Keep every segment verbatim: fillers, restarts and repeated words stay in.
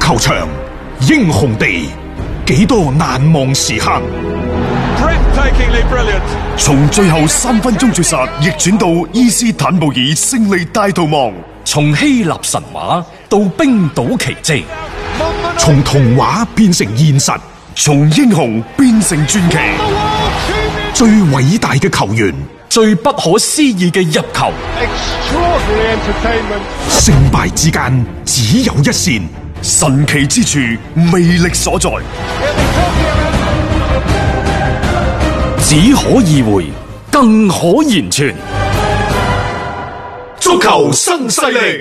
球場，英雄地，幾多難忘時刻。 從最後三分鐘絕殺逆轉到伊斯坦布爾勝利大逃亡， 從希臘神話到冰島奇蹟， 從童話變成現實， 從英雄變成傳奇。 最偉大嘅球員， 最不可思議嘅入球， 勝敗之間只有一線， 神奇之處魅力所在。 只可意會，更可言傳。 足球新勢力。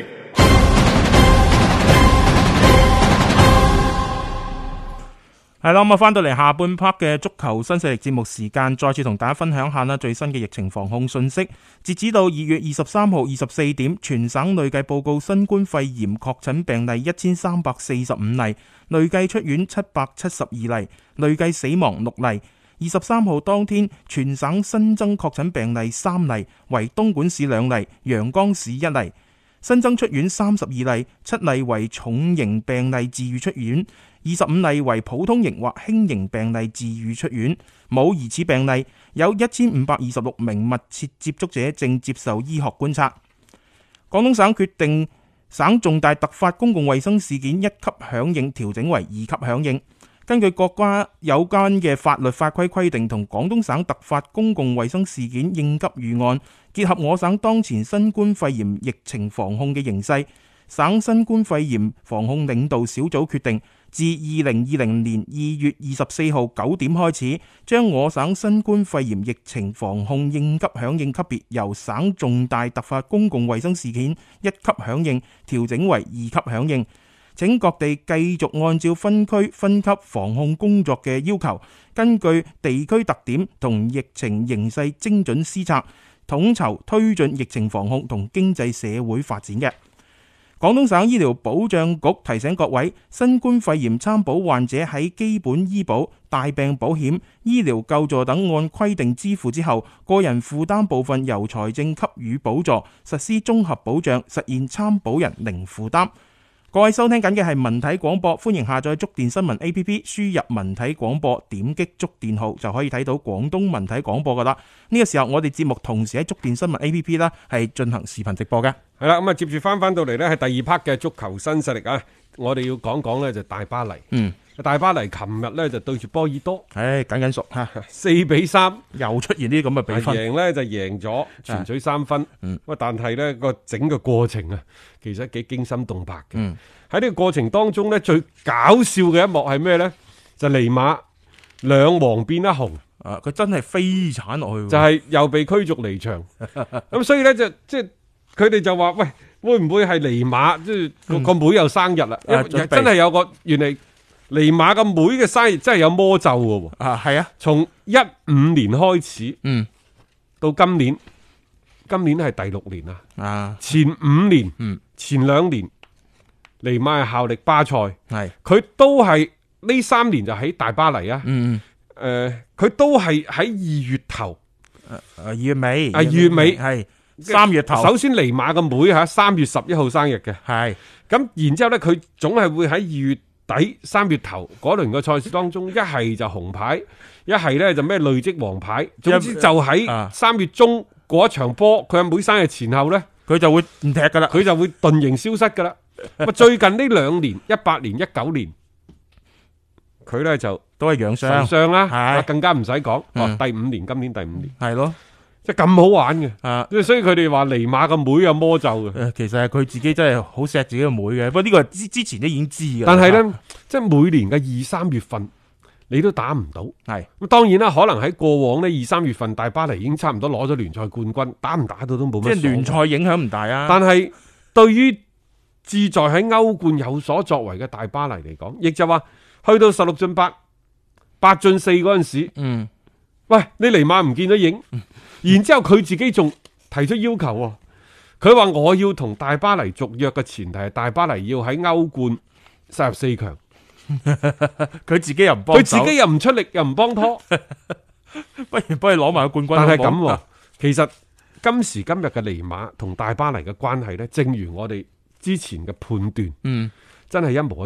係啦，咁啊，翻到嚟下半 part 嘅足球新勢力節目時間，再次同大家分享下啦最新嘅疫情防控信息。截止到二月二十三號二十四點，全省累計報告新冠肺炎確診病例一千三百四十五例，累計出院七百七十二例，累計死亡六例。二十三號當天，全省新增確診病例三例，為東莞市兩例，陽江市一例。新增出院三十二例，七例為重型病例治愈出院，二十五例為普通型或輕型病例治愈出院，冇疑似病例。有一千五百二十六名密切接觸者正接受醫學觀察。廣東省決定省重大突發公共衛生事件一級響應調整為二級響應。根據國家有關嘅法律法規規定同廣東省突發公共衛生事件應急預案，結合我省當前新冠肺炎疫情防控嘅形勢，省新冠肺炎防控領導小組決定，自二零二零年二月二十四號九點開始，將我省新冠肺炎疫情防控應急響應級別由省重大突發公共衛生事件一級響應調整為二級響應。請各地繼續按照分區分級防控工作嘅要求，根據地區特點同疫情形勢精準施策，統籌推進疫情防控同經濟社會發展嘅。廣東省醫療保障局提醒各位，新冠肺炎參保患者喺基本醫保、大病保險、醫療救助等按規定支付之後，個人負擔部分由財政給予補助，實施綜合保障，實現參保人零負擔。各位收聽緊嘅係文體廣播，歡迎下載觸電新聞 A P P， 輸入文體廣播，點擊觸電號就可以睇到廣東文體廣播噶啦。呢個時候我哋節目同時喺觸電新聞 A P P 啦，係進行視頻直播嘅。 係啦，咁啊接住翻翻到嚟呢，係第二 part 嘅足球新勢力啊！我哋要講講呢，就大巴黎。嗯，大巴黎琴日呢，就對住波爾多， 唉，緊緊熟吓， 四比三又出現呢啲咁嘅比分， 贏呢就贏咗，全取三分。嗯，喂，但係呢個整個過程啊，其實幾驚心動魄嘅。嗯，喺呢個過程當中呢，最搞笑嘅一幕係咩呢？就尼馬兩黃變一紅。 啊，佢真係飛鏟落去， 就係又被驅逐離場。咁所以呢，就即係佢哋就話喂，會唔會係尼馬即係個個妹又生日啦？嗯、真係有個原嚟尼馬個妹嘅生日真係有魔咒嘅喎。 啊，係啊， 從一五年開始，嗯，到今年，今年係第六年啦。啊，前五年，嗯，前兩年尼馬係效力巴塞，係佢都係呢三年就喺大巴黎啊。嗯。誒，佢、呃、都係喺二月頭，誒二月尾， 啊二月尾係三月頭。 首先尼馬嘅妹吓三月十一號生日嘅， 係咁然之後咧，佢總係會喺二月底三月頭嗰輪嘅賽事當中，一係就紅牌，一係咧就咩累積黃牌，總之就喺三月中嗰一場波，佢阿妹生日前後咧， 佢就會唔踢噶啦， 佢就會遁形消失噶啦。最近呢兩年，一八年、一九年，佢咧就。 都係養傷， 傷啦，更加唔使講。哦，第五年，今年第五年， 係咯， 即係咁好玩嘅。啊，所以佢哋話尼馬個妹有魔咒嘅。 誒，其實係佢自己真係好錫自己個妹嘅。不過呢個之之前都已經知嘅。 但係咧，即係每年嘅二三月份，你都打唔到。係咁，當然啦，可能喺過往呢二三月份，大巴黎已經差唔多攞咗聯賽冠軍，打唔打到都冇乜。 即係聯賽影響唔大啊。 但係對於志在喺歐冠有所作為嘅大巴黎嚟講，亦就話去到十六進八。八進四嗰陣時，嗯，喂，你尼馬唔見咗影，嗯、然之後佢自己仲提出要求，佢話我要同大巴黎續約嘅前提係大巴黎要喺歐冠殺入四強， 佢自己又唔幫， 佢自己又唔出力又唔幫拖， 不如幫佢攞埋個冠軍。 但係咁，其實今時今日嘅尼馬同大巴黎嘅關係咧，正如我哋之前嘅判斷，嗯，真係一模一樣。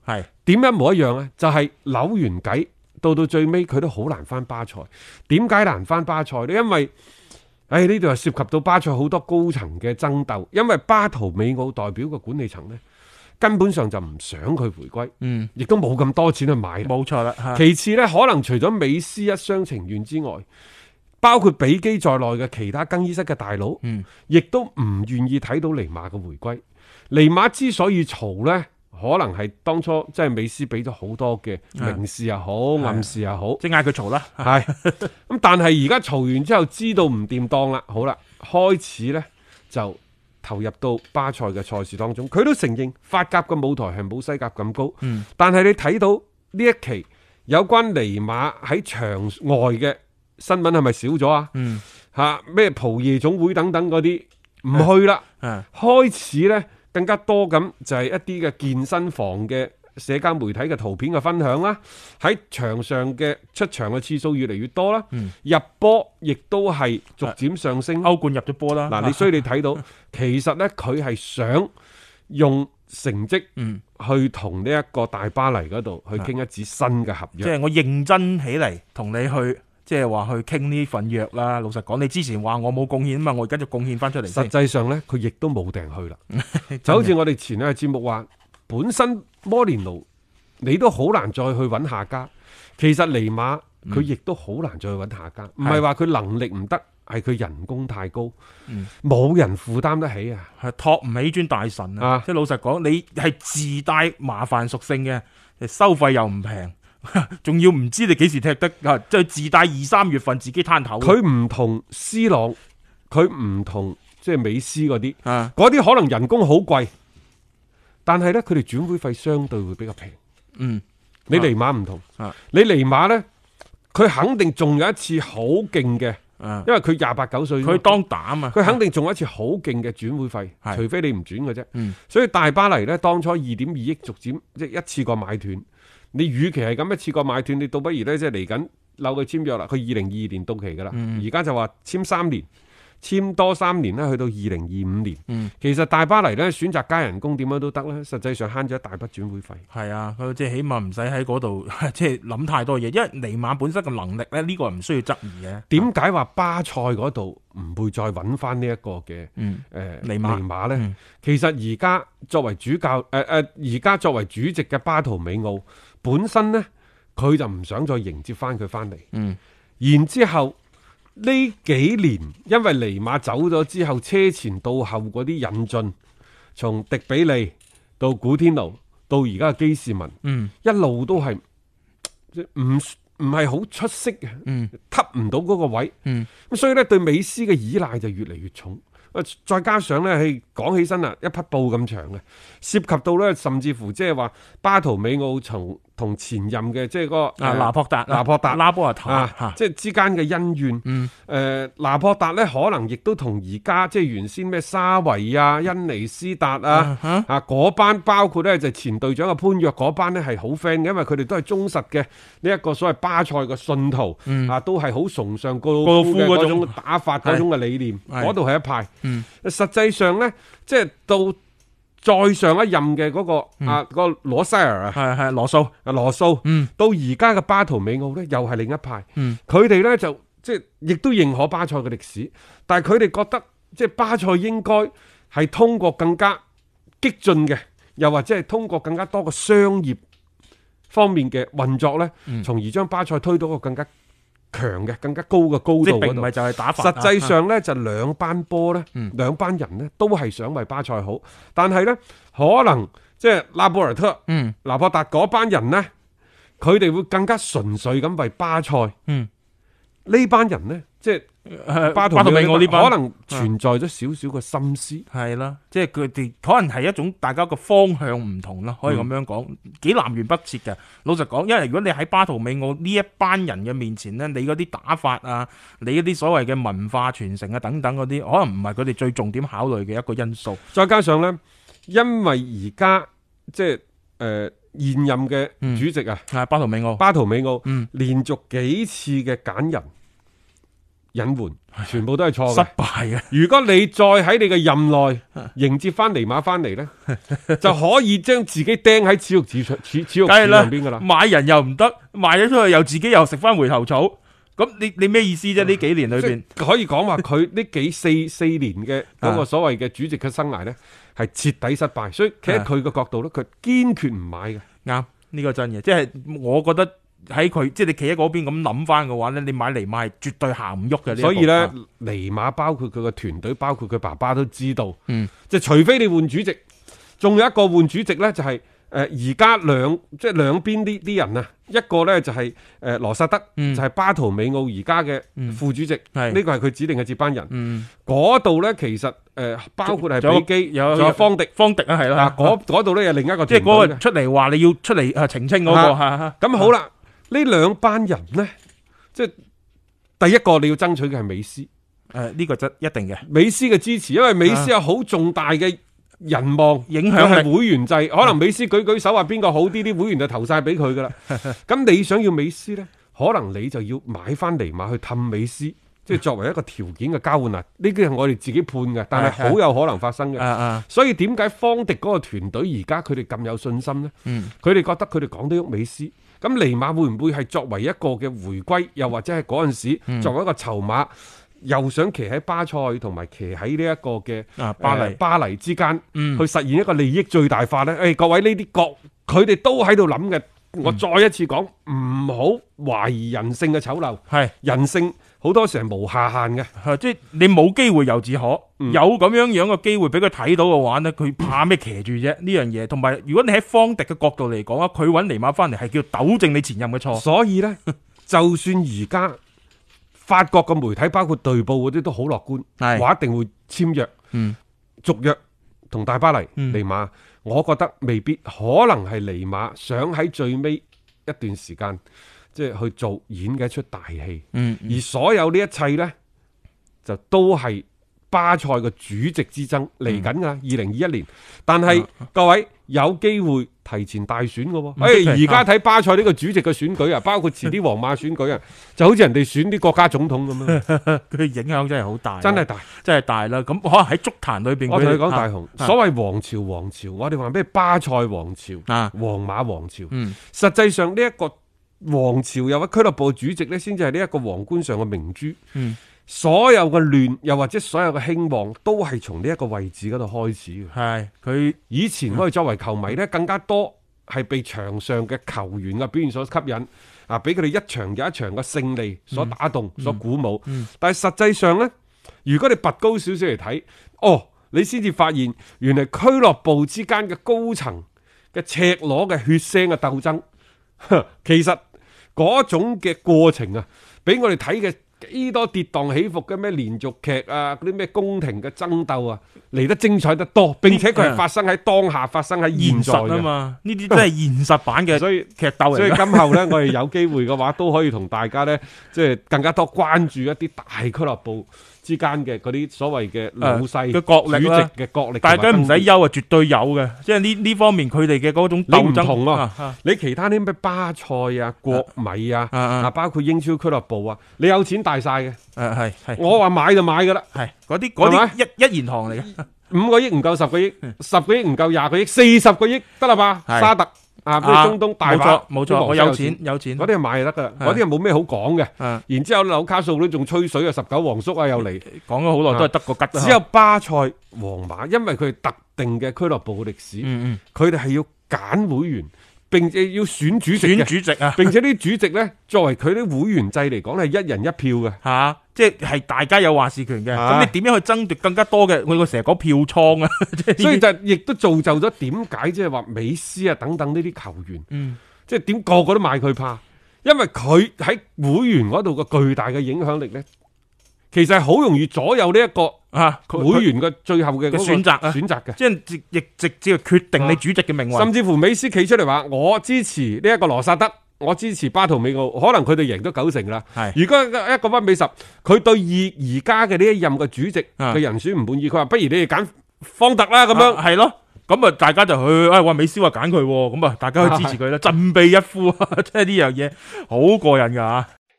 係點一模一樣啊？就係、是、扭完計到到最尾佢都好難翻巴塞。點解難翻巴塞呢？因為誒呢度係涉及到巴塞好多高層嘅爭鬥，因為巴圖美奧代表嘅管理層呢，根本上就唔想佢回歸，嗯，亦都冇咁多錢去買， 冇錯啦。 其次呢，可能除咗美斯一廂情願之外，包括比基在內嘅其他更衣室嘅大佬，嗯，亦都唔願意睇到尼馬嘅回歸。尼馬之所以嘈呢，可能係當初即係美斯俾咗好多嘅明示又好，暗示又好， 即係嗌佢嘈啦。 係咁，但係而家嘈完之後，知道唔掂當啦，好啦，開始呢就投入到巴塞嘅賽事當中。佢都承認法甲嘅舞台係冇西甲咁高，嗯，但係你睇到呢一期有關尼馬喺場外嘅新聞係咪少咗啊？嗯，吓咩蒲夜總會等等嗰啲唔去啦，嗯，開始呢更加多咁就係一啲嘅健身房嘅社交媒體嘅圖片嘅分享啦，喺場上嘅出場嘅次數越嚟越多啦，嗯，入波亦都係逐漸上升， 歐冠入咗波啦。 嗱，你所以你睇到其實呢，佢係想用成績去同呢一個大巴黎嗰度去傾一紙新嘅合約， 即係我認真起嚟同你去。即係話去傾呢份約啦。老實講，你之前話我冇貢獻啊嘛，我而家就貢獻翻出嚟。 實際上呢，佢亦都冇訂去啦。就好似我哋前兩日節目話，本身摩連奴你都好難再去揾下家。其實尼馬佢亦都好難再去揾下家，唔係話佢能力唔得，係佢人工太高，冇、嗯、人負擔得起啊， 係托唔起尊大神啊。啊即係老實講，你係自帶麻煩屬性嘅，收費又唔平。仲要唔知你幾時踢得啊？即係自帶二三月份自己攤頭。 佢唔同 C 朗，佢唔同即係美斯嗰啲，嗰啲可能人工好貴，但係咧佢哋轉會費相對會比較平。嗯，你尼馬唔同，啊、你尼馬咧，佢肯定仲有一次好勁嘅，啊、因為佢廿八九歲， 佢當膽啊， 佢肯定仲有一次好勁嘅轉會費，啊、除非你唔轉嘅啫。嗯，所以大巴黎咧當初二點二億逐漸即係一次過買斷。你與其係咁一次過買斷，你倒不如咧即係嚟緊扭佢簽約啦。佢二零二二年到期噶啦，而家、嗯、就話簽三年，簽多三年咧，去到二零二五年。嗯、其實大巴黎咧選擇加人工點樣都得啦，實際上慳咗一大筆轉會費。係啊，佢即係起碼唔使喺嗰度即係諗太多嘢，因為尼馬本身嘅能力咧，呢、呢個唔需要質疑嘅。 點解話巴塞嗰度唔會再揾翻呢一個嘅誒、嗯呃、尼馬尼馬咧？嗯、其實而家作為主教誒誒，而、呃、家作為主席嘅巴圖美奧。本身呢，佢就唔想再迎接翻佢翻嚟。嗯，然之後呢幾年，因為尼馬走咗之後，車前到後嗰啲引進，從迪比利到古天奴到而家嘅基士文，嗯，一路都係唔唔係好出色嘅，嗯，吸唔到嗰個位，嗯，咁所以呢，對美斯嘅依賴就越嚟越重。再加上咧，係講起身啊，一匹布咁長嘅，涉及到咧，甚至乎即係話巴圖美奧從同前任嘅即係嗰個啊拿破達、 拿破達、 拉波阿塔啊，即係之間嘅恩怨。嗯，誒、呃，拿破達咧可能亦都同而家即係原先咩沙維啊、恩尼斯達啊啊嗰班，包括咧就前隊長嘅潘約嗰班咧係好 friend 嘅，因為佢哋都係忠實嘅呢一個所謂巴塞嘅信徒，嗯、啊，都係好崇尚高魯夫嘅嗰種打法嗰種嘅理念，嗰度係一派。嗯，實際上咧，即係到再上一任嘅嗰、那個、嗯、啊，嗰、那個羅塞爾啊， 係係羅素啊羅素，嗯，到而家嘅巴圖美奧咧，又係另一派，嗯，佢哋咧就即係亦都認可巴塞嘅歷史，但係佢哋覺得即係巴塞應該係通過更加激進嘅，又或者係通過更加多嘅商業方面嘅運作咧，從、嗯、而將巴塞推到一個更加強嘅更加高嘅高度嗰度， 並唔係就係打法。 實際上咧，就兩班波咧，兩班人咧，都係想為巴塞好，但係咧，可能即係拉波爾特、嗯、拿破達嗰班人咧，佢哋會更加純粹咁為巴塞。嗯，呢班人咧，即係。巴圖美奧呢班可能存在咗少少嘅心思， 係啦，即係佢哋可能係一種大家個方向唔同啦，可以咁樣講，幾、嗯、南轅北轍嘅。老實講，因為如果你喺巴圖美奧呢一班人嘅面前咧，你嗰啲打法啊，你嗰啲所謂嘅文化傳承啊等等嗰啲，可能唔係佢哋最重點考慮嘅一個因素。 再加上咧，因為而家即係誒、呃、現任嘅主席啊， 係、嗯、巴圖美奧， 巴圖美奧，嗯，連續幾次嘅揀人。 隱瞞，全部都係錯嘅， 失敗嘅。 如果你再喺你嘅任內迎接翻尼馬翻嚟咧，就可以將自己釘喺恥辱柱上恥恥辱柱上邊噶啦。 買人又唔得，賣咗出去又自己又食翻回頭草。咁你你咩意思啫？呢幾年裏邊可以講話佢呢幾四四年嘅嗰個所謂嘅主席嘅生涯咧，係徹底失敗。所以企喺佢嘅角度咧，佢堅決唔買嘅。 啱，呢個真嘅，即係我覺得喺佢即係你企喺嗰邊咁諗翻嘅話咧，你買尼馬係絕對行唔喐嘅。 所以咧，尼馬包括佢個團隊，包括佢爸爸都知道， 嗯，即係除非你換主席，仲有一個換主席咧，就係、是。誒而家兩即係兩邊啲啲人啊，一個咧就係誒羅薩德，嗯、就係巴圖美奧而家嘅副主席，呢、嗯、個係佢指定嘅接班人。嗰度咧其實誒、呃、包括係比基，有仲有方迪，方迪啊係啦。嗰度咧有另一個團隊，即係嗰個出嚟話你要出嚟誒澄清嗰、那個。咁、啊啊、好啦，呢兩班人咧，即係第一個你要爭取嘅係美斯。誒、呃、呢、這個就一定嘅，美斯嘅支持，因為美斯有好重大嘅。人望影響係會員制，可能美斯舉舉手話邊個好啲，啲會員就投晒俾佢噶啦。咁你想要美斯呢？可能你就要買翻尼馬去氹美斯，即係作為一個條件嘅交換啊！呢啲係我哋自己判嘅，但係好有可能發生嘅。所以點解方迪嗰個團隊而家佢哋咁有信心呢？佢哋覺得佢哋講得喐美斯，咁尼馬會唔會係作為一個嘅回歸，又或者係嗰陣時作為一個籌碼？又想騎喺巴塞同埋騎喺呢一個嘅巴黎、呃、巴黎之間，嗯、去實現一個利益最大化咧。誒、哎，各位呢啲國，佢哋都喺度諗嘅。我再一次講，唔好懷疑人性嘅醜陋。係人性好多時係無下限嘅，即係你冇機會由自可，嗯、有咁樣樣嘅機會俾佢睇到嘅話呢，佢怕咩騎住啫？呢樣嘢，同埋如果你喺方迪嘅角度嚟講啊，佢揾尼馬翻嚟係叫糾正你前任嘅錯。所以呢，就算而家。法國嘅媒體包括隊報嗰啲都好樂觀，話一定會簽約、嗯、續約同大巴黎、嗯、尼馬。我覺得未必，可能係尼馬想喺最尾一段時間，即係去做演嘅一出大戲。嗯嗯、而所有呢一切呢，就都係巴塞嘅主席之爭嚟緊噶，二零二一年。但係、啊、各位有機會提前大選嘅，誒而家睇巴塞呢個主席嘅選舉啊，包括遲啲皇馬選舉啊，就好似人哋選啲國家總統咁樣，佢影響真係好大，真係大，真係大啦。咁可能喺足壇裏邊，我同你講大雄，啊、所謂王朝王朝，我哋話咩巴塞王朝、啊、皇馬王朝，嗯、實際上呢一個王朝又或俱樂部主席咧，先至係呢一個皇冠上嘅明珠。嗯所有嘅亂，又或者所有嘅興旺，都係從呢一個位置嗰度開始嘅。係佢以前我哋作為球迷咧，更加多係被場上嘅球員嘅表現所吸引，啊，俾佢哋一場又一場嘅勝利所打動、嗯、所鼓舞。嗯嗯、但係實際上咧，如果你拔高少少嚟睇，哦，你先至發現原來俱樂部之間嘅高層嘅赤裸嘅血腥嘅鬥爭，其實嗰種嘅過程啊，俾我哋睇嘅。幾多跌宕起伏嘅咩連續劇啊，嗰啲咩宮廷嘅爭鬥啊，嚟得精彩得多，並且佢係發生喺當下，發生喺現在啊嘛，呢啲真係現實版嘅，所以劇鬥嚟。所以今後咧，我哋有機會嘅話，都可以同大家咧，即係更加多關注一啲大俱樂部之間嘅嗰啲所謂嘅老細嘅角力啦，主席嘅角力，大家唔使憂啊，絕對有嘅，即係呢呢方面佢哋嘅嗰種鬥爭。你唔同啊，啊你其他啲咩巴塞啊、國米啊，啊，啊包括英超俱樂部啊，你有錢大晒嘅，誒係係，我話買就買噶啦，係嗰啲嗰啲一一言堂嚟嘅，五個億唔夠十個億，十個億唔夠廿個億，四十個億得啦吧？沙特。啊！咩中東大把，冇錯，我有錢有錢，嗰啲係買就得噶啦，嗰啲係冇咩好講嘅。然之後紐卡素都仲吹水啊，十九皇叔啊又嚟，講咗好耐都係得個吉。只有巴塞、皇馬，因為佢係特定嘅俱樂部嘅歷史，佢哋係要揀會員，並且要選主席嘅，選主席啊，並且啲主席咧，作為佢啲會員制嚟講係一人一票嘅，吓，即係大家有話事權嘅。咁你點樣去爭奪更加多嘅？我成日講票倉啊，所以就亦都造就咗點解即係話美斯啊等等呢啲球員，嗯，即係點個個都買佢怕，因為佢喺會員嗰度個巨大嘅影響力咧，其實係好容易左右呢一個啊會員嘅最後嘅選擇啊選擇嘅，即係亦直接決定你主席嘅命運。甚至乎美斯企出嚟話：我支持呢一個羅薩德。我支持巴圖美奧，可能佢哋贏咗九成啦。係，如果一個一比十，佢對而而家嘅呢一任嘅主席嘅人選唔滿意，佢話不如你哋揀方特啦咁樣。係咯，咁啊大家就去，哎話美斯話揀佢，咁啊大家去支持佢啦，振臂一呼，即係呢樣嘢好過癮噶。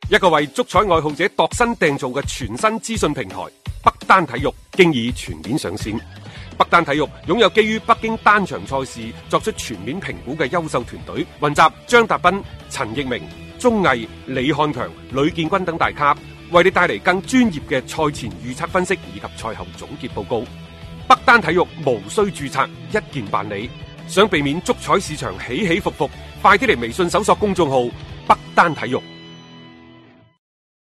一個為足彩愛好者度身訂造嘅全新資訊平台北單體育，經已全面上線。北單體育擁有基於北京單場賽事作出全面評估嘅優秀團隊，雲集張達斌、陳奕明、鐘毅、李漢強、呂建軍等大咖，為你帶嚟更專業嘅賽前預測分析以及賽後總結報告。北單體育無需註冊，一鍵辦理。想避免足彩市場起起伏伏，快啲嚟微信搜索公眾號北單體育。